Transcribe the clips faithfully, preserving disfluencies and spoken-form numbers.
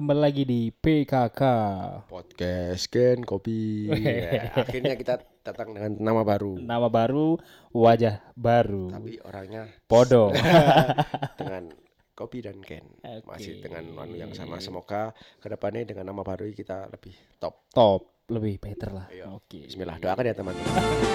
kembali lagi di P K K Podcast Ken Kopi. Ya, akhirnya kita datang dengan nama baru. Nama baru, wajah baru. Tapi orangnya podo. dengan Kopi dan Ken. Okay. Masih dengan anu yang sama. Semoga kedepannya dengan nama baru kita lebih top. Top, lebih better lah. Oke. Okay. Bismillah, doakan ya teman-teman.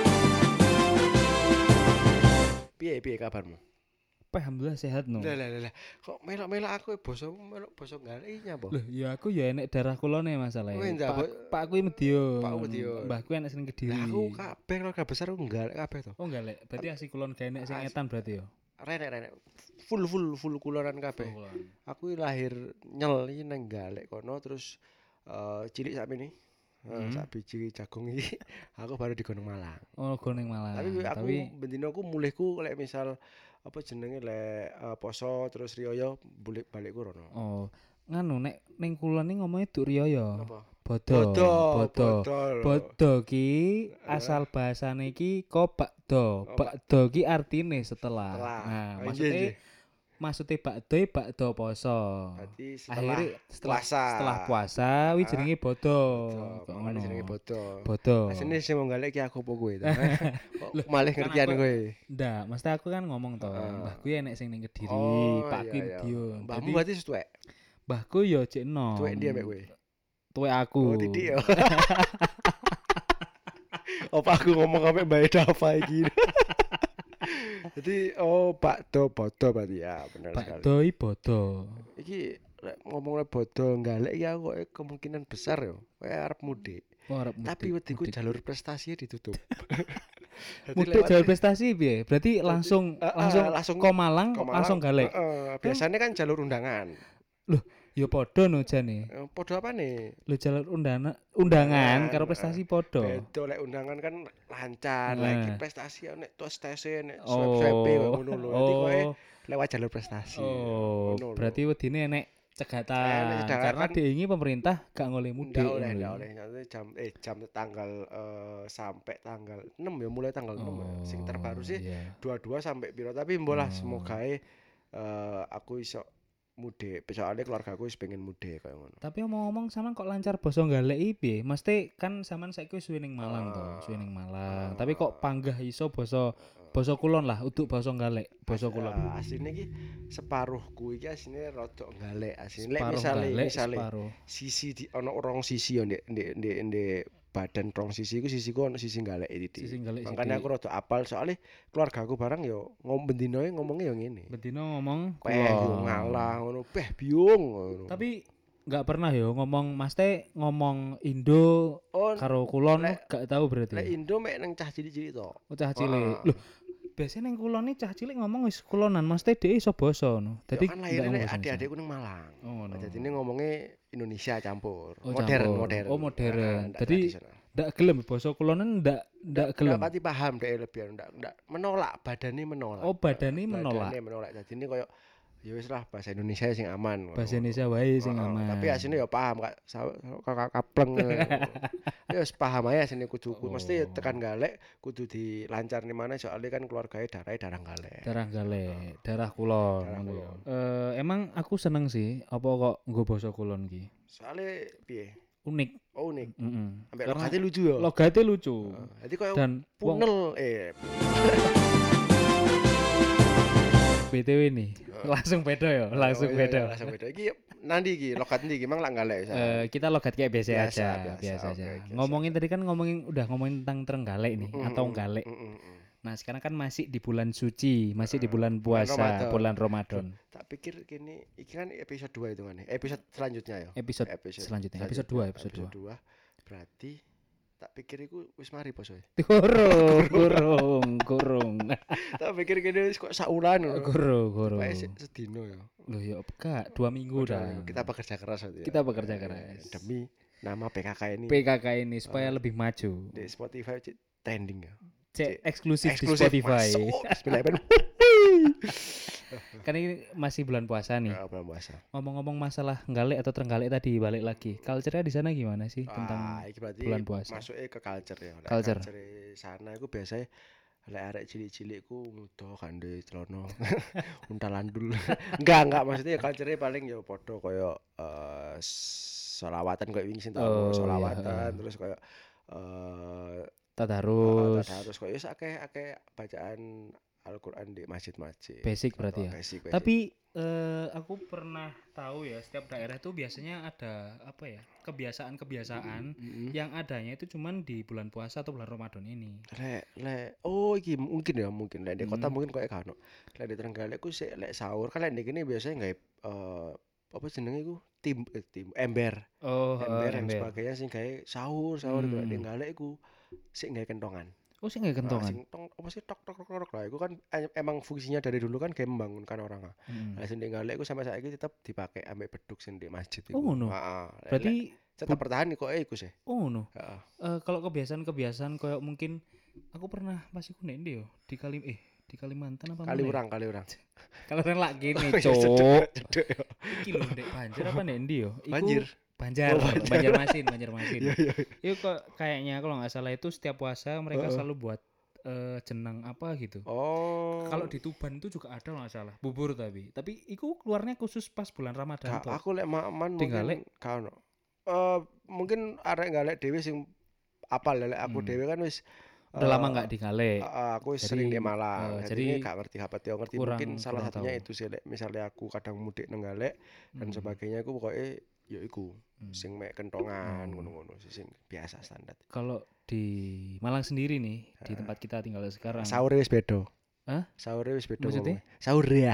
Piye piye kabarmu? Alhamdulillah sehat no. Lah lah lah. Kok melok-melok aku boso melok boso galenya apa? Loh, ya aku ya enek darah kulone masalahnya. Pak Pak aku Medion. Pak Medion. Mbahku enek sing Kediri. Lah aku kabeh keluarga besar aku galek kabeh to. Oh galek. Berarti asli kulon gak enek sing etan berarti ya. Renek-renek. Full full full kulonan kabeh. Aku lahir nyel iki nang galek kono terus uh, cilik sak mene. Hmm. Sak biji jagung iki aku baru di Gunung Malang. Oh, Gunung Malang. Tapi aku Tapi bendino aku mulihku lek misal apa jenenge lek uh, poso terus riyo balik balikku rono. Oh, nganu nek ning kulon iki ngomongnya duk riyo. Apa? Bodo. Bodo. Bodo ki asal bahasane iki ko bakdo. Bakdo ki artine setelah. setelah. Nah, oh, maksudnya iya, iya. maksudnya bakdo bakdo poso. Berarti setelah akhirnya setelah puasa. Setelah puasa wi jenenge bodo. Kok ngono jenenge bodo. Bodo. Asine sing wong galek ki aku apa kowe to. Malih ngertian kowe. Ndak, mesti aku kan ngomong to. Uh. Mbahku ya enek sing ning Kediri, oh, Pakku iya, iya. Medion. Mbahmu berarti tuwek. Mbahku ya cek enom. Tuwek dia mek kowe. Tuwek aku. Oh, titik ya. Apa aku ngomong sampe Mbak Dava iki. Jadi oh bakdo bodo berarti ya benar sekali. Bakdo i bodo. Iki ngomongnya bodo galek ya kok kemungkinan besar yo. Kowe arep mudik. Oh, arep mudik. Tapi wediku jalur prestasinya ditutup. Mudik jalur prestasi piye? Berarti langsung uh, langsung uh, langsung ke Malang, Malang langsung galek. Uh, uh, biasanya kan jalur undangan. Loh, ya podo no jane. Uh, podo apa nih? Lho jalur undangan undangan karo prestasi podo. Bedo lek undangan kan lancar, nah. lek prestasi nek tes tese nek swab-swabe ngono lho. Dadi kowe lewat jalur prestasi. Oh, ngono berarti wedine nek cegatan eh, karena kan diingi pemerintah gak ngoleh mudik. Enggak oleh, enggak oleh. Jam eh jam tanggal uh, sampai tanggal enam ya, mulai tanggal oh, enam. Sing terbaru sih yeah. dua puluh dua sampai piro, tapi mbolah oh. semoga uh, aku iso mudik. Soalnya keluarga aku wis pengen mudik kaya ngono. Tapi omong-omong sampean kok lancar basa galek iki piye? Mesti kan sampean saiki wis suwe ning Malang uh, to, suwe ning Malang. Uh, tapi kok panggah iso basa basa kulon lah, uduk basa galek, basa kulon. Uh, asline iki separuhku iki asline rada galek. Asline lek misale misale sisi di ana rong sisi yo ndek ndek ndek ndek badan rong sisi iku sisiku ana sisi galek iki. Makane aku rada apal soalnya keluarga aku barang yo ngom bendinoe ngomongnya yo ngene. Bendino ngomong kulon. Yo ngalah ngono, beh biung ngono. Tapi enggak pernah yo ngomong Mas Teh ngomong Indo oh, karo kulon gak tahu berarti. Lek Indo mek nang cah cilik-cilik to. Oh, cah cilik. Loh, biasanya nang kulon iki cah cilik ngomong wis kulonan, Mas Teh dhek iso basa no. Dadi kan lahirnya adik-adikku nang Malang. Oh, no. Dadi ini ngomongnya Indonesia campur. Oh, modern, campur. modern. Oh, modern. Dadi ndak gelem basa kulonan ndak ndak gelem. Ndak pati paham dhek lebih ndak ndak menolak, badane menolak. Oh, badane menolak. Badane menolak. Dadi ini koyo ya wis lah bahasa Indonesia sing aman. Bahasa Indonesia wae sing oh, aman. Tapi asine ya paham Kak. Kakak kapleng. Ya wis paham ae asine kudu oh. Mesti tekan galek kudu dilancar nih mana soalnya kan keluarganya darahnya darah galek. Darah galek, oh. darah kulon. Darah kulon. Uh, emang aku seneng sih apa kok nggo basa kulon ki. Soalnya piye? Unik. Oh, unik. Heeh. Mm Sampai logatnya lucu ya. Logatnya lucu. Uh, jadi koyo dan punel eh B T W nih, uh. langsung beda ya, langsung oh, iya, beda. Iya, langsung beda. Iki nanti iki logat ndi iki mang lak galek. Uh, kita logat kayak biasa, biasa aja, biasa, biasa okay, aja. Biasa. Ngomongin tadi kan ngomongin udah ngomongin tentang Trenggalek nih mm, atau galek. Mm, mm, mm. Nah, sekarang kan masih di bulan suci, masih uh, di bulan puasa, Ramadan. bulan Ramadan. Tak pikir kini iki kan episode dua itu kan. Episode selanjutnya ya. Episode, episode selanjutnya, episode dua, episode dua. Berarti tak pikir iku wis mari poso. Kurung, kurung, kurung. Tak pikir kene wis kok saulan ngono. Kurung, kurung. Wis sedino ya. Loh ya enggak, dua minggu dah. Kita bekerja keras ya. Kita bekerja keras demi nama P K K ini. P K K ini supaya uh, lebih maju. Di Spotify trending ya. Cek eksklusif, eksklusif di Spotify. Kan ini masih bulan puasa nih. Ya, bulan puasa. Ngomong-ngomong masalah galek atau Trenggalek tadi, balik lagi. Culture-nya di sana gimana sih ah, tentang bulan puasa? Masuknya ke culture ya. Culture. Culture sana itu biasanya Lek arek cilik-cilik ku muda kande celana untalandul. Enggak, enggak maksudnya culture-e paling ya padha kaya eh selawatan koyo wingi sing tak omong Oh, iya, selawatan heeh. terus kaya eh heeh Tadarus. tadarus kaya wis akeh-akeh bacaan Al-Qur'an di masjid-masjid. Basic Heeh, berarti ya. basic basic. Tapi eh aku pernah tahu ya setiap daerah itu biasanya ada apa ya? Kebiasaan-kebiasaan Mm-mm. yang adanya itu cuman di bulan puasa atau bulan Ramadan ini. Lek lek oh iki mungkin ya mungkin lek di kota Hmm. mungkin koyo kan. Lek di Trenggalek ku sik lek sahur kan lek di kene biasanya gawe eh apa jenenge iku tim eh, tim ember. Oh, heeh, Ember dan ember. sebagainya sing gawe sahur sahur iku lek di Hmm. Trenggalek iku sik gawe kentongan. Oh, sih nggak Nah, kentongan. sing tong apa sih tok tok tok tok lah iku kan em- emang fungsinya dari dulu kan kayak membangunkan orang. Ah. Hmm. Nah, sing di Trenggalek iku sampai saiki tetep dipakai ambek beduk sing di masjid Oh, iku. no. Heeh. Berarti tetap bertahan kok eh iku sih. oh no. Heeh. Eh, kalau kebiasaan-kebiasaan kayak mungkin aku pernah pas iku nek ndi yo di Kalim eh di Kalimantan apa Kali mana ya? urang kali urang. Kalau orang lak gini, Oh, iya, cok. cedek, cedek, ya. Iki lho ndek Banjar apa ndek ndi yo? Iku Banjir. Banjar, Oh, Banjar. Banjarmasin, Banjarmasin. Iya iya. Itu kok kayaknya kalau nggak salah itu setiap puasa mereka Heeh. selalu buat eh, jenang apa gitu. Oh. Kalau di Tuban itu juga ada kalau nggak salah, bubur tapi. Tapi itu keluarnya khusus pas bulan Ramadan Gak, toh. aku lek man Tinggalek? mungkin gak ono. Eh mungkin arek galek dhewe sing apal lek aku Hmm. dhewe kan wis Udah lama eh, nggak di Gale. Heeh, aku wis Jadi, sering di Malang. eh, jadi jadi gak ngerti apa yo ngerti kurang- mungkin salah kurang satunya tahu. itu sih lek misalnya aku kadang mudik nang Galek dan Hmm. sebagainya aku pokoknya ya iku Hmm. sing mek kentongan Hmm. ngono-ngono sih sing biasa standar. Kalau di Malang sendiri nih, di tempat kita tinggal sekarang. Sahure wis beda. Hah? Sahure wis beda. Maksudnya? ngomongnya. Sahur ya.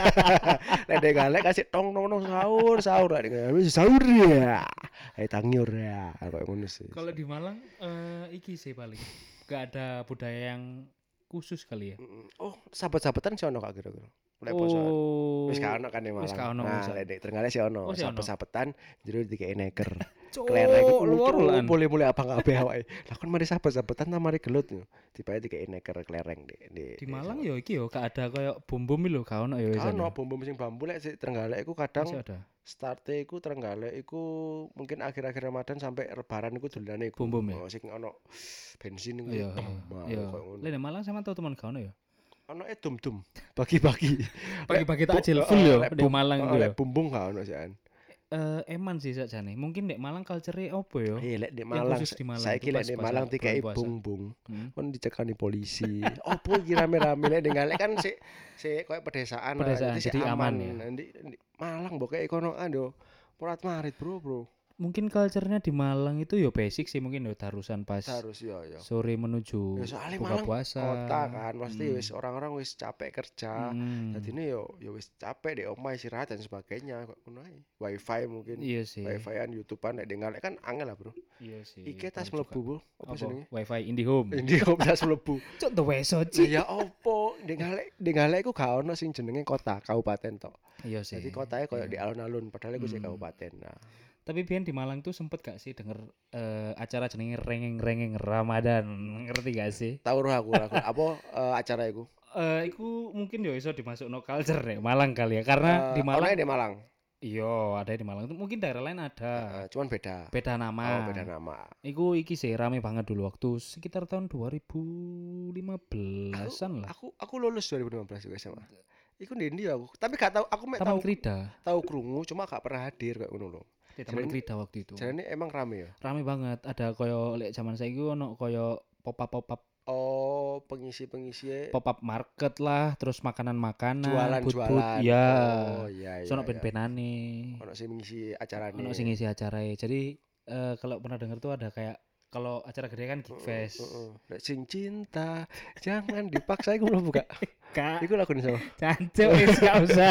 Lek dek galek kasih tong tong tong sahur sahur lek dek wis sahur ya. Eh tangiur ya. Kayak ngono sih. Kalau di Malang eh iki sih paling gak ada budaya yang khusus kali ya. Mm, oh, sahabat-sahabatan sih ono kak kira-kira. Lek poso. Oh. Wis gak ono kan di Malang. Wis gak ono, Nah, wis. lek dek Trenggalek sih ono. Oh, sih ono. Sahabat-sahabatan jero dikei neker. Cuk, Klereng luar lan. boleh-boleh apa kabeh awake. Lah kan mari sahabat-sahabatan ta mari gelut yo. Tibae dikei neker klereng di di, Di Malang yo iki yo gak ada kayak bom-bom lho, gak ono ya wis. Kan ono bom-bom sing bambu lek sik Trenggalek iku kadang Masih ada. starte iku Trenggalek iku mungkin akhir-akhir Ramadan sampai Lebaran iku dolane iku. Bom-bom ya? Oh, sing ono bensin iku. Iya, tembak, iya. koyo ngono. Lah di Malang sama tau teman gak ono ya? Ono e dum-dum. Bagi-bagi. Pagi-pagi Bu- takjil eh, full yo lek di bum- Malang eh, itu yo. Lek bumbung gak ono sih an. Eh eman sih sakjane. Mungkin di Malang culture-e opo yo? Eh lek di Yang Malang khusus di Malang saiki itu lek pas di puasa- Malang dikai bulan puasa. bumbung. Hmm. Kon dicekani polisi. Opo iki rame-rame lek Trenggalek kan sik sik koyo pedesaan. lah, Pedesaan, sik jadi aman ya. Nanti di Malang mbok kayak konoan yo. Morat marit, Bro, Bro. Mungkin culture-nya di Malang itu yo basic sih mungkin yo tarusan pas Harus yo yo. sore menuju Ya soalnya buka Malang puasa. kota kan, pasti Hmm. wis orang-orang wis capek kerja. Hmm. Jadi ini yo yo wis capek deh omah istirahat dan sebagainya kok ngono ae. Wifi mungkin. Iya sih. Wifi-an YouTubean nek dengar kan angel lah, Bro. Iya sih. Iki tas bener juga. mlebu, Bro. Apa Apa? jenenge? Wifi IndiHome. Indihome tas mlebu. Cuk the weso Lah cik. ya opo? Dengalek dengalek iku gak ono sing jenenge kota, kabupaten tok. Iya sih. Jadi kotanya koyo Iya. di alun-alun padahal iku sik Hmm. kabupaten. Nah, Tapi Bian di Malang tuh sempet gak sih denger eh, acara jenenge rengeng-rengeng Ramadan, ngerti gak sih? tahu roh aku aku apa eh, acara iku? Eh, iku mungkin yo iso dimasukno culture deh Malang kali ya, karena Eh, di Malang. ono di Malang. Iya, ada di Malang. Mungkin daerah lain ada. Eh, cuman beda. Beda nama. Oh, beda nama. Iku iki sih rame banget dulu waktu sekitar tahun dua ribu lima belasan lah. Aku aku lulus dua ribu lima belas juga S M A. Iku ndi aku. Tapi gak tahu aku mek Taman tahu Krida. tahu krungu cuma gak pernah hadir kayak ngono lho. Di Taman Jadi- Krida waktu itu. Jadi emang rame ya. Rame banget. Ada koyo lek zaman saiki ono koyo pop-up pop-up Oh, pengisi-pengisi pop-up market lah, terus makanan-makanan, jualan-jualan. booth-booth, ya. Oh, iya iya. Sono iya. ben-benane. Ono sing mengisi acara Ono sing ngisi acara. Jadi eh, kalau pernah dengar tuh ada kayak kalau acara gede kan Geek Fest. Nek sing cinta jangan dipaksa iku belum buka. Kak, Iku lagu sama. cancuk wis gak usah.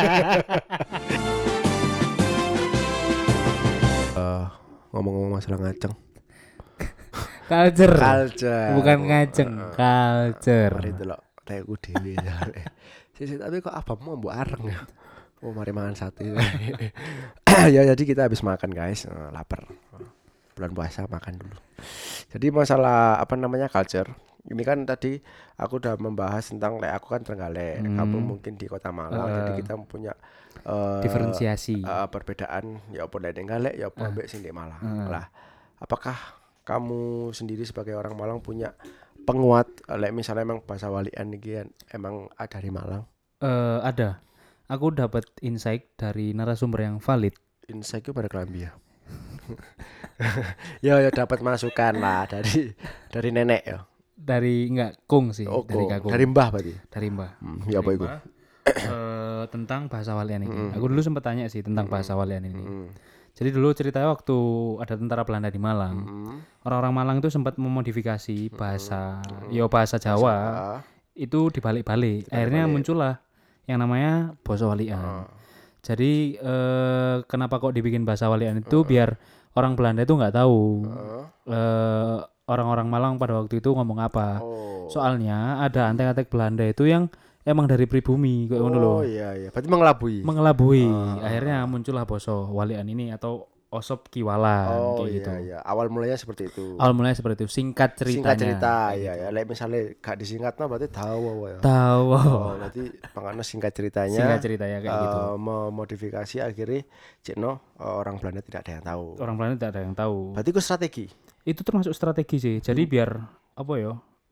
Eh, ngomong-ngomong masalah ngaceng. Culture. Culture. Bukan ngaceng, Heeh. culture. Mari delok teku dhewe. Sisi tapi kok abamu mbok areng ya. Oh, mari mangan sate. Ya jadi kita habis makan guys, Eh, lapar. Bulan puasa makan dulu. Jadi masalah apa namanya culture. Ini kan tadi aku udah membahas tentang lek aku kan Trenggalek, Hmm. kamu mungkin di Kota Malang. Uh. Jadi kita punya eh, Diferensiasi. eh, perbedaan ya apa lek Trenggalek ya apa Uh. ambek sing di Malang. Uh. Lah, apakah kamu sendiri sebagai orang Malang punya penguat lek misalnya emang bahasa walian iki emang ada di Malang? Eh uh, ada. Aku dapat insight dari narasumber yang valid. Insight itu pada kelambi ya. ya ya dapat masukan lah dari dari nenek ya. Dari enggak kung sih, oh, dari kakung. Dari mbah berarti. Dari mbah. Hmm, ya apa itu? uh, tentang bahasa walian ini. Mm. Aku dulu sempat tanya sih tentang mm. bahasa walian ini. Mm. Jadi dulu ceritanya waktu ada tentara Belanda di Malang, mm. orang-orang Malang itu sempat memodifikasi bahasa, mm. yo bahasa Jawa, bahasa. Itu dibalik-balik. Akhirnya muncullah yang namanya basa walian. Uh. Jadi eh, kenapa kok dibikin bahasa walian itu uh. biar orang Belanda itu nggak tahu uh. eh, orang-orang Malang pada waktu itu ngomong apa. Oh. Soalnya ada antek-antek Belanda itu yang emang dari pribumi kayak ngono lho. Oh iya iya, berarti mengelabui. Mengelabui. Uh. Akhirnya muncullah basa walian ini atau osop kiwalan oh, kayak iya, gitu. Iya. Awal mulanya seperti itu. Awal mulanya seperti itu. Singkat ceritanya. Singkat cerita, iya gitu. Ya. Lek misalnya gak disingkatno berarti tahu ya. Tahu. Oh, berarti pangane singkat ceritanya. Singkat ceritanya kayak uh, gitu. Memodifikasi akhirnya cekno uh, orang Belanda tidak ada yang tahu. Orang Belanda tidak ada yang tahu. Berarti itu strategi. Itu termasuk strategi sih. Jadi hmm. biar apa ya?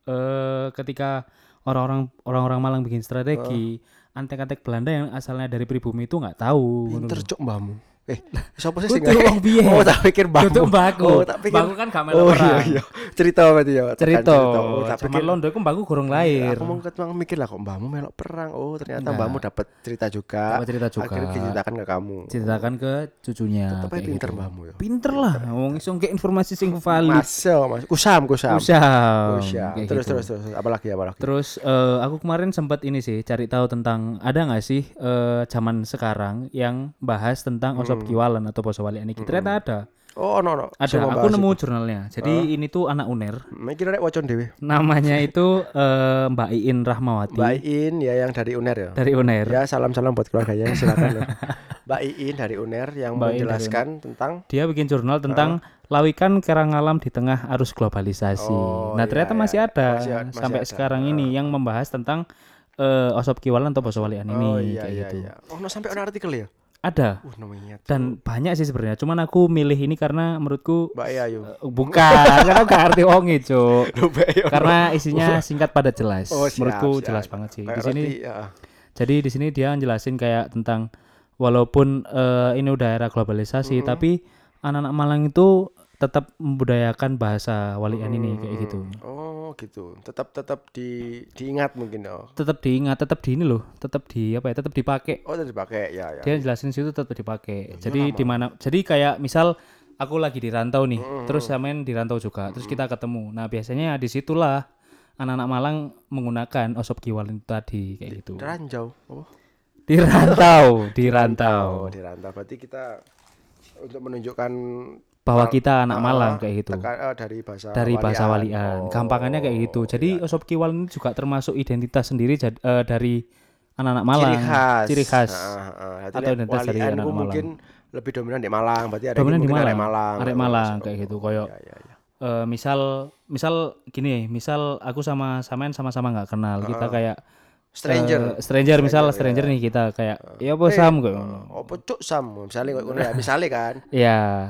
Uh, ketika orang-orang orang-orang Malang bikin strategi, uh. antek-antek Belanda yang asalnya dari pribumi itu nggak tahu. Pinter cuk mbahmu. Eh, siapa sih sing wong piye? Oh, tak pikir mbahmu. Tutuk mbahku. Oh, tak pikir. Mbahku kan gak melok Oh perang. iya iya. Cerita berarti ya. Cerita. Oh, tak pikir londo iku mbahku gorong lahir. Aku mau ketemu mikir lah kok mbahmu melok perang. Oh, ternyata Enggak. mbahmu dapat cerita juga. Dapat cerita juga. Akhirnya diceritakan ke kamu. Ceritakan ke cucunya. Tetep pinter gitu. mbahmu ya. Pinter lah. Wong iso ngek informasi sing valid. Masuk, Mas. Kusam, kusam. Kusam. Kusam. Terus, gitu. terus terus terus apalagi apalagi. Terus uh, aku kemarin sempat ini sih cari tahu tentang ada enggak sih uh, zaman sekarang yang bahas tentang hmm. osop kiwalan atau basa walian iki. Ternyata ada. Oh, no no. Ada. Aku nemu itu. Jurnalnya. Jadi uh. ini tuh anak UNER. Mikir rek wacon dhewe. Namanya itu uh, Mbak Iin Rahmawati. Mbak Iin ya yang dari UNER ya. Dari UNER. Ya, salam-salam buat keluarganya silakan. Ya. Mbak Iin dari UNER yang Mbak menjelaskan tentang dia bikin jurnal tentang uh. lawikan kerang alam di tengah arus globalisasi. Oh, nah, ternyata iya, masih iya. ada masih, masih sampai ada. Sekarang uh. ini yang membahas tentang uh, osop kiwalan atau basa walian ini oh, iya, kayak iya, gitu. Iya. Oh, no, sampai ada artikel ya? Ada. Uh, dan banyak sih sebenarnya. Cuman aku milih ini karena menurutku Mbak Ayu. Uh, bukan, karena gak arti wonge, Cuk. Karena isinya singkat padat jelas. Oh, siap, menurutku siap. Jelas banget sih. Di sini ya. Jadi di sini dia jelasin kayak tentang walaupun uh, ini udah era globalisasi mm-hmm. tapi anak-anak Malang itu tetap membudayakan bahasa walian hmm, ini kayak gitu. Oh, gitu. Tetap tetap di diingat mungkin oh. Tetap diingat, tetap di ini loh, tetap di apa ya? Tetap dipakai. Oh, tetap dipakai. Ya, ya. Dia jelasin situ tetap dipakai. Ya, jadi di mana? Jadi kayak misal aku lagi di rantau nih, hmm, terus samain di rantau juga, hmm. terus kita ketemu. Nah, biasanya disitulah anak-anak Malang menggunakan osop kiwalan tadi kayak di, gitu. Di ranjau. Oh. Di rantau, di rantau. Oh, di rantau. Berarti kita untuk menunjukkan bahwa kita anak Malang uh, kayak gitu. Teka, uh, dari bahasa dari walian. bahasa walian. Oh, gampangannya kayak gitu. Jadi iya. Osop kiwalan ini juga termasuk identitas sendiri jad, uh, dari anak-anak Malang. Ciri khas. Ciri khas. Uh, uh, atau identitas dari anak Malang. Mungkin lebih dominan di Malang. Berarti ada dominan di Malang. Arek Malang. Arek Malang kayak gitu. Koyok. Ya, ya, ya. Uh, misal misal gini, misal aku sama samain sama-sama enggak kenal. Uh, kita kayak stranger. Uh, stranger misal stranger, stranger ya. Nih kita kayak uh, ya apa hey, Sam kok. Uh, apa cuk Sam? Misalnya kok ngono ya, misale kan. Iya.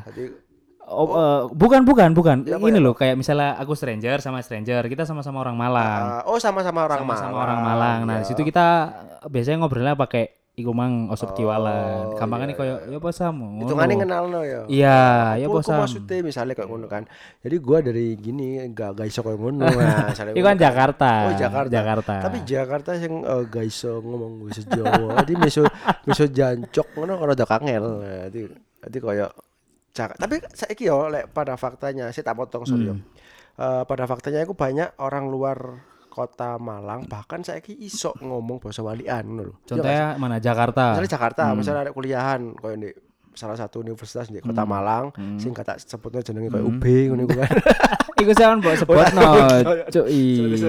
Oh, oh. Uh, bukan bukan bukan ya, ini ya, loh kayak misalnya aku stranger sama stranger kita sama-sama orang Malang. Uh, oh sama-sama orang sama-sama Malang. orang Malang. Nah, di situ kita biasanya ngobrolnya pakai iku mang osop kiwalan. Gampangane koyo ya apa Sam. Hitungane kenalno ya. Iya, ya apa Sam. Maksudnya misalnya kayak ngono kan. Jadi gua dari gini enggak gak iso koyo ngono. Nah, itu kan Jakarta. Oh, Jakarta. Jakarta. Tapi Jakarta sing uh, gak iso ngomong bahasa Jawa. Jadi meso meso jancok ngono karo rada kangel. Dadi dadi koyo Cak. Tapi saiki yo lek pada faktanya saya tak potong sorry yo. Hmm. Uh, pada faktanya aku banyak orang luar kota Malang bahkan saiki iso ngomong bahasa walian ngono lho. Contohnya mana Jakarta? Misalnya Jakarta, hmm. misalnya ada kuliahan koyo di salah satu universitas di kota hmm. Malang hmm. sing kata sebutnya jenenge koyo hmm. U B ngono iku kan. Iku sampean mbok sebutno, cuy.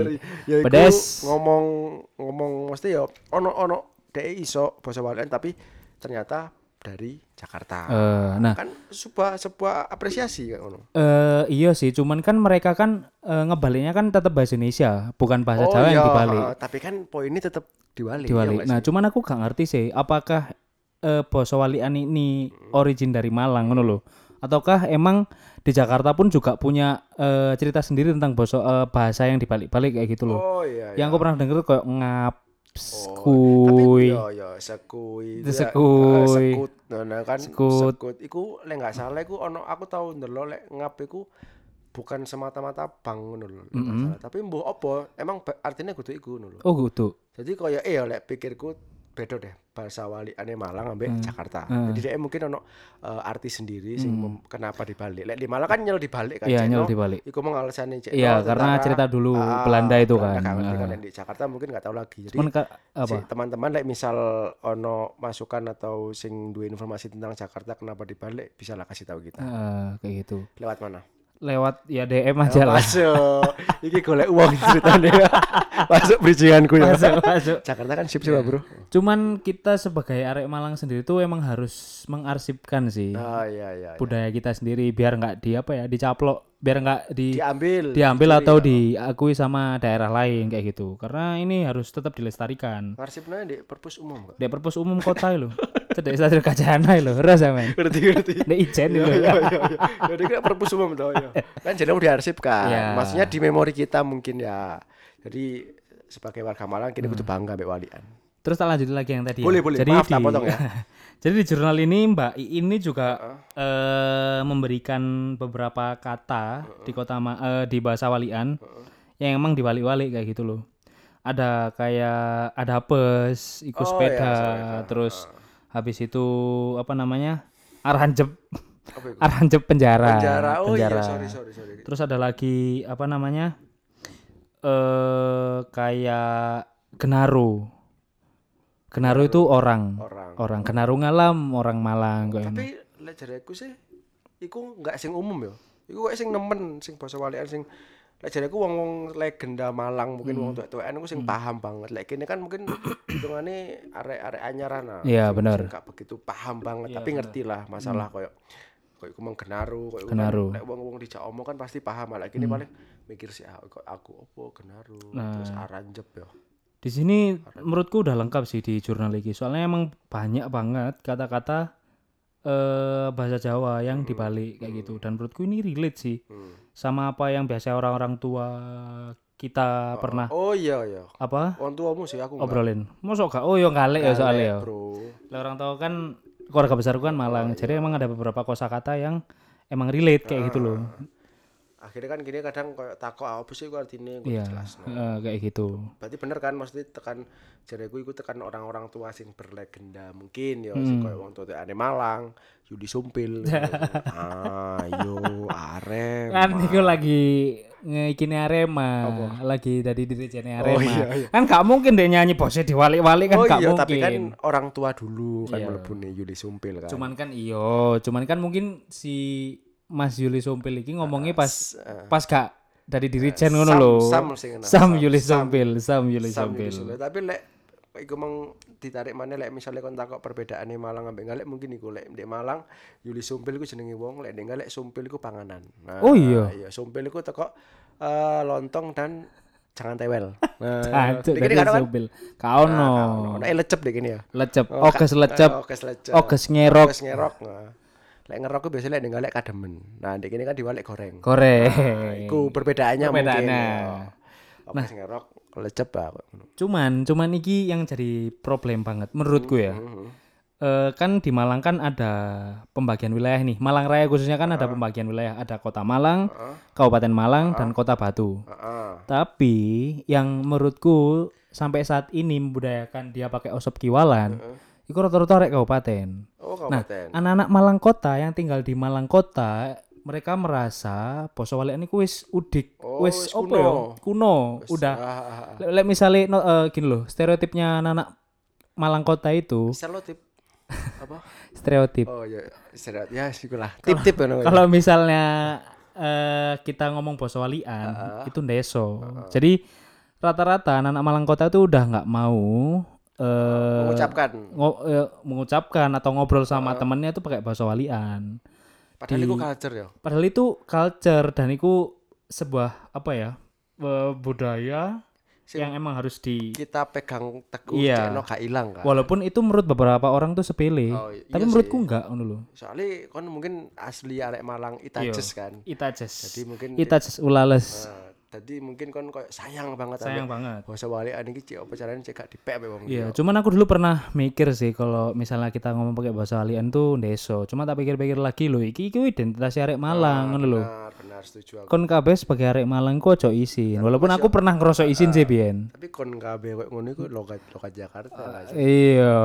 Ya pedes ngomong ngomong mesti yo ono ono dhek iso bahasa walian tapi ternyata dari Jakarta. Uh, nah, kan sebuah sebuah apresiasi kan ngono. Eh uh, iya sih, cuman kan mereka kan uh, ngebaliknya kan tetap bahasa Indonesia, bukan bahasa oh, Jawa iya, yang dibalik. Uh, tapi kan poinnya tetap dibalik. Dibalik. Ya, nah, cuman aku gak ngerti sih apakah uh, basa walian ini hmm. origin dari Malang ngono lho Ataukah emang di Jakarta pun juga punya uh, cerita sendiri tentang boso, uh, bahasa yang dibalik-balik kayak gitu loh. Oh iya. Yang iya. aku pernah denger kayak ngap, skuy. Oh, tapi yo yo sekuy. Sekuy. Sekut. Nah, kan sekut. sekut. Iku lek enggak salah iku ono aku tahu ndelok lek ngap iku bukan semata-mata bang ngono lho, mm-hmm. masalah. Tapi mbuh apa? Emang artinya kudu iku ngono lho. Oh, kudu. Jadi koyo eh ya lek pikirku beda deh bahasa waliane Malang ambek hmm. Jakarta. Hmm. Jadi dia mungkin ono uh, arti sendiri sing hmm. kenapa dibalik. Lek di Malang kan nyel dibalik kan. Iya, nyel dibalik. Iku mau alasane cek. Iya, karena cerita dulu ah, Belanda itu Belanda kan. Belanda kan. Di Jakarta mungkin enggak tahu lagi. Jadi ka, apa? Si, teman-teman lek misal ono masukan atau sing duwe informasi tentang Jakarta kenapa dibalik, bisa lah kasih tahu kita. Uh, kayak gitu. Lewat mana? Lewat ya D M aja lah. Masuk. Iki golek uang ceritane. Masuk bridginganku ya. Masuk, masuk. Jakarta kan sip sih, ya. Bro. Cuman kita sebagai arek Malang sendiri tuh emang harus mengarsipkan sih. Oh iya iya. Budaya iya. kita sendiri biar enggak di apa ya, dicaplok, biar enggak di diambil. Diambil dicuri, atau ya. diakui sama daerah lain kayak gitu. Karena ini harus tetap dilestarikan. Ngarsipnya di perpus umum kok. Di perpus umum kota lho. Cedek Satrio Kajana lho, ora sampean. Ngerti ngerti. Nek ijen lho. Iya iya iya. Jadi kan perpus umum toh ya. Kan jadi diarsipkan. Ya. Maksudnya di memori kita mungkin ya. Jadi sebagai warga Malang kita hmm. butuh bangga mbek walian. Terus tak lanjutin lagi yang tadi. Boleh ya. boleh. Jadi Maaf di, tak potong ya. Jadi di jurnal ini Mbak ini juga uh-uh. uh, memberikan beberapa kata uh-uh. di kota uh, di bahasa walian uh-uh. yang emang diwalik-walik kayak gitu loh. Ada kayak ada apes, ikut oh, sepeda, iya, sorry, terus uh. habis itu apa namanya? Arhanjep. Arhanjep penjara. Penjara. Oh penjara. iya, sorry sorry sorry. Terus ada lagi apa namanya? Eh uh, kayak Genaru. Genaru itu orang. Orang. Orang Genaru ngalam, orang Malang kok. Tapi lek jareku sih iku enggak sing umum ya. Iku kok sing nemen sing basa walian sing lek jareku wong-wong legenda Malang mungkin hmm. wong tuwek-tuwekan iku sing hmm. paham banget. Lek kene kan mungkin hitungane arek-arek anyaran lah. Iya, benar. Enggak begitu paham banget, ya, tapi ngerti lah masalah hmm. koyo koyo iku mung Genaru, koyo Genaru. Lek wong-wong dijak omong kan pasti paham. Lek kene hmm. paling mikir sih aku aku opo Genaru nah. terus Arhanjep ya. Di sini menurutku udah lengkap sih di jurnal ini. Soalnya emang banyak banget kata-kata eh, bahasa Jawa yang dibalik kayak gitu. Dan menurutku ini relate sih hmm. sama apa yang biasa orang-orang tua kita oh, pernah. Oh iya iya. Apa? Orang tuamu sih aku. Obrolin. Mosok gak? Oh yo ngalek ya soalnya ya. Lah orang tua kan keluarga besarku kan Malang. Oh, jadi iya. emang ada beberapa kosakata yang emang relate kayak ah. gitu loh. Akhirnya kan gini kadang kayak takut apa sih gue artinya gue yeah, jelas no. uh, kayak gitu. Berarti bener kan maksudnya tekan jareku iku tekan orang-orang tua sing berlegenda mungkin ya hmm. sing koyo wong tua ane Malang, Yudi Sumpil. Ayo Arema. Kan iku lagi ngikine Arema, apa? Lagi dari dirjennya Arema. Oh, iya, iya. Kan gak mungkin dia nyanyi bosnya diwalik-walik kan oh, gak iya, mungkin. Tapi kan orang tua dulu kan iya. melebune Yudi Sumpil kan. Cuman kan iyo, cuman kan mungkin si Mas Yuli Sumpil iki ngomongnya pas uh, pas gak dari dirijen uh, ngono lho. Sam Sam, Sam Yuli Sumpil, Sam Yuli Sumpil. Tapi lek iku mang ditarik maneh lek misale kon takok perbedaane Malang ambek Ngalek mungkin iku lek ndek Malang Yuli Sumpil iku jenenge wong, lek ndek Ngalek Sumpil iku panganan. Nah, oh iya. Iya, Sumpil iku teko uh, lontong dan jangan tewel. Nah, iki kan Sumpil. Ka ono. Ono lecep dek ini ya. Lecep, oges lecep. Oges lecep. Oges ngerok. Oges ngerok. Lek ngerok biasa lek ngalek kademen. Nah, ndek kene kan diwalek goreng. Goreng. Nah, iku perbedaannya, perbedaannya mungkin. Nah, ngerok lecep apa. Cuman, cuman iki yang jadi problem banget menurutku ya. Mm-hmm. E, kan di Malang kan ada pembagian wilayah nih. Malang Raya khususnya kan uh-huh. ada pembagian wilayah. Ada Kota Malang, uh-huh. Kabupaten Malang, uh-huh. dan Kota Batu. Uh-huh. Tapi yang menurutku sampai saat ini membudayakan dia pakai osop kiwalan. Uh-huh. Iku rata-rata rek kabupaten. Oh, kabupaten. Nah, anak-anak Malang Kota yang tinggal di Malang Kota, mereka merasa basa walian iku wis udik, oh, wis opo ya? Kuno. Wis, udah. Lek ah, ah. misale no, uh, gini loh, stereotipnya anak-anak Malang Kota itu. Stereotip apa? Stereotip. Oh iya, stereotip. Ya, sikulah. Tip-tip kan. Kalau misalnya uh, kita ngomong basa walian, uh, itu ndeso. Uh, uh. Jadi rata-rata anak-anak Malang Kota itu udah enggak mau Uh, mengucapkan ngo, uh, mengucapkan atau ngobrol sama uh. temennya itu pakai bahasa walian. Padahal Di, itu culture ya. Padahal itu culture dan itu sebuah apa ya uh, budaya yang emang harus di kita pegang teguh iya. cekno gak ilang kan. Walaupun itu menurut beberapa orang tuh sepele, oh, iya tapi menurutku sih. Enggak ngono lho. Soalnya kon mungkin asli arek Malang Itajes kan. Itajes. Jadi mungkin Itajes ulales. Uh, Tadi mungkin kon koyo sayang banget sayang banget basa walian iki cek apa carane cek gak dipek ape wong. Iya, cuman aku dulu pernah mikir sih kalau misalnya kita ngomong pakai bahasa walian tuh ndeso. Cuma tak pikir-pikir lagi lho, iki iki identitas arek Malang ngono lho. Benar, benar setuju aku. Kon kabeh sebagai arek Malang ku ojo isin. Tapi walaupun aku pernah ngerasa isin uh, sih biyen. Tapi kon kabeh koyo ngono iku logat logat Jakarta uh, Iya.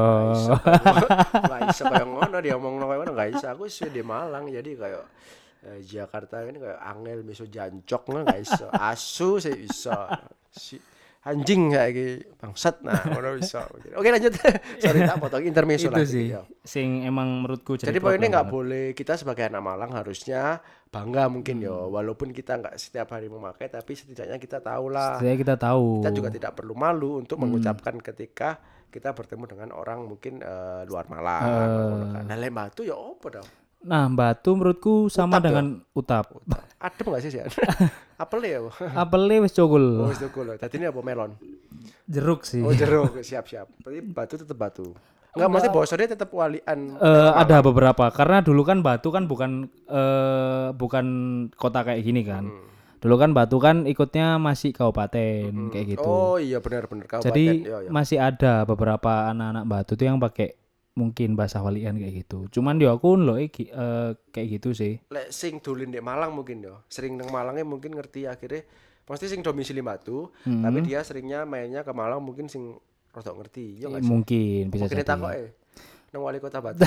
Lah iso koyo ngono dia omongno koyo ngono gak iso. Aku wis di Malang jadi koyo Eh, Jakarta ini kayak angel miso jancok nggak gak iso asu sih bisa si anjing kayak gitu bangsat nah ngono bisa. Oke lanjut. Sorry tak potong intermezzo lagi. Itu sih ya. Sing emang menurutku jadi. Jadi poinnya nggak boleh kita sebagai anak Malang harusnya bangga mungkin hmm. yo walaupun kita nggak setiap hari memakai tapi setidaknya kita tahu lah. Setidaknya kita tahu. Kita juga tidak perlu malu untuk hmm. mengucapkan ketika kita bertemu dengan orang mungkin uh, luar Malang. Uh. Nah lembah tuh ya apa dong? Nah, batu menurutku sama utap dengan ya? Utap. Utap. Adem enggak sih sih? Apel ya? Apel wis cokul. Oh, wis cokul. Tadi ini apa melon? Jeruk sih. Oh, jeruk. Siap-siap. Berarti batu tetap batu. Enggak, mesti bosone tetap walian. Uh, ada beberapa karena dulu kan Batu kan bukan uh, bukan kota kayak gini kan. Hmm. Dulu kan Batu kan ikutnya masih kabupaten hmm. kayak gitu. Oh, iya benar-benar kabupaten. Jadi yo, yo. masih ada beberapa anak-anak Batu tuh yang pakai mungkin bahasa walian kayak gitu. Cuman dia aku lho iki uh, kayak gitu sih. Lek sing dolen di Malang mungkin yo. Sering nang Malangnya mungkin ngerti akhirnya pasti sing domisili Batu, hmm. tapi dia seringnya mainnya ke Malang mungkin sing rodok ngerti. Yo gak sih? Mungkin bisa jadi. Mungkin takoke nang wali kota Batu.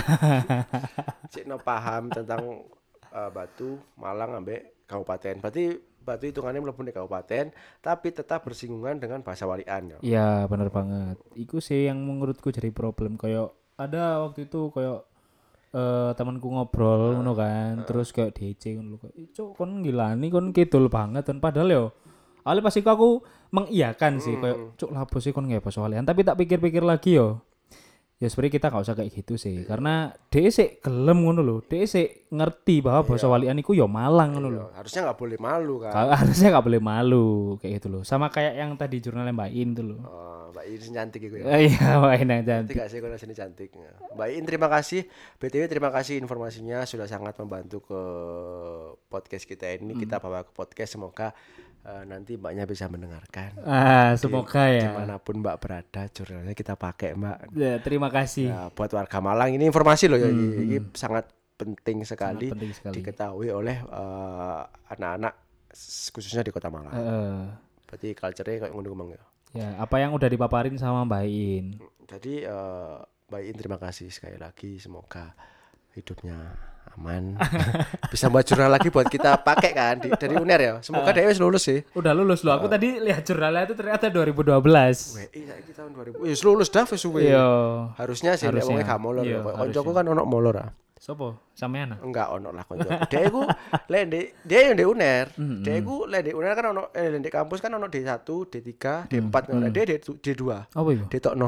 Cek no paham tentang uh, Batu, Malang ambek kabupaten. Berarti Batu hitungannya mlebu di kabupaten tapi tetap bersinggungan dengan bahasa walian yo. Iya, bener banget. Iku sih yang menurutku jadi problem kayak ada waktu itu kayak uh, temanku ngobrol ngono uh, kan uh, terus kayak D C ngono kayak cuk kon ngilani kon kidul banget dan padahal yo awalnya pasti aku mengiyakan sih kayak cuk lapo sih kon nggak bahasa walian tapi tak pikir-pikir lagi yo ya sebenarnya kita nggak usah kayak gitu sih karena D C gelem ngono lho D C ngerti bahwa bahasa iya. Walian iku yo Malang ngono lho harusnya nggak boleh malu kan harusnya nggak boleh malu kayak gitu loh sama kayak yang tadi jurnalnya Mbak In tuh loh oh, Mbak In cantik gitu ya iya Mbak In yang cantik cantik sih kalau sini cantik Mbak In terima kasih B T W terima kasih informasinya sudah sangat membantu ke podcast kita ini hmm. kita bawa ke podcast semoga Uh, nanti mbaknya bisa mendengarkan. Ah, semoga di, ya. Dimanapun mbak berada, jurnalnya kita pakai mbak. Ya, terima kasih. Ya, buat warga Malang ini informasi loh ya, hmm. ini sangat penting sekali, sangat penting sekali. Diketahui oleh uh, anak-anak khususnya di Kota Malang. Uh. Berarti culture-nya kayak ngomong ya. Ya, apa yang udah dipaparin sama Mbak In. Jadi uh, Mbak In terima kasih sekali lagi, semoga hidupnya aman. Bisa buat jurnal lagi buat kita pakai kan di, dari U N E R ya. Semoga uh, dia wis lulus sih. Udah lulus loh. Aku uh, tadi lihat jurnalnya itu ternyata dua ribu dua belas. Wih, iya iki tahun dua ribu. Wis lulus dah wis suwe. Harusnya sih nek wong gak molor ya. Koncoku kan ono molor ah. Sopo? Sampean? Enggak ono lah koncoku. Dia iku lek ndek dia yang di U N E R. Dia iku lek di U N E R kan ono eh di kampus kan ono D satu, D tiga, D empat ngono. Dia D dua. Apa itu? D tokno.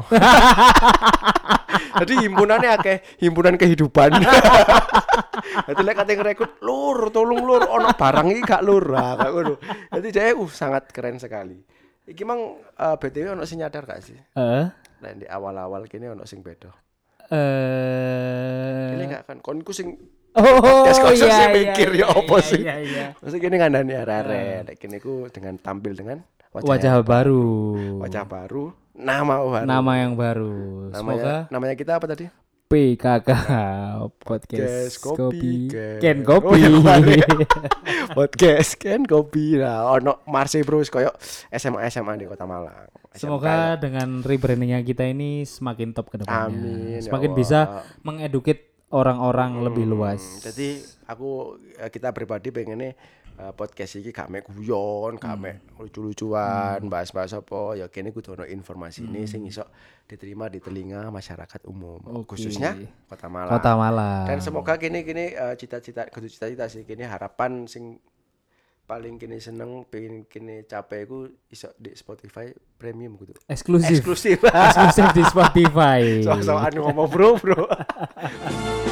Jadi himpunannya akeh, himpunan kehidupan. Jadi lek kate ngerekrut lur, tolong lur, ono barang iki gak lur. Nah, kayak ngono. Jadi dia uh sangat keren sekali. Iki mang uh, B T W ono sing nyadar gak sih? Heeh. Uh. Nah, di awal-awal kene ono sing beda. Eh, uh... ini gak kan konku sing oh, podcast iya, sing mikir iya, ya opo iya, sih. Iya, iya. Maksud kene ngandani arek-arek. Lek kene ku dengan tampil dengan wajah, wajah baru. Wajah baru, nama baru. Nama yang baru. Namanya, semoga namanya kita apa tadi? P K K Podcast Kopi Ken Kopi. Oh, ya, Podcast Ken Kopi. Nah, ono Marse Bro koyo S M A S M A di Kota Malang. Semoga dengan rebrandingnya kita ini semakin top ke depannya. Amin. Semakin ya bisa mengeduket orang-orang hmm, lebih luas. Jadi aku kita pribadi pengennya uh, podcast ini gak mek guyon, gak mek hmm. lucu-lucuan, hmm. bahas-bahas apa. Ya kene kudu ono informasi ini hmm. sing iso diterima di telinga masyarakat umum, okay. khususnya Kota Malang. Kota Malang. Dan semoga kini-kini uh, cita-cita, kudu cita-cita sih kini harapan sing paling kini seneng pengen kini capek ku iso di Spotify premium gitu. Eksklusif. Eksklusif. Eksklusif di Spotify. Soal-soal ngomong bro bro.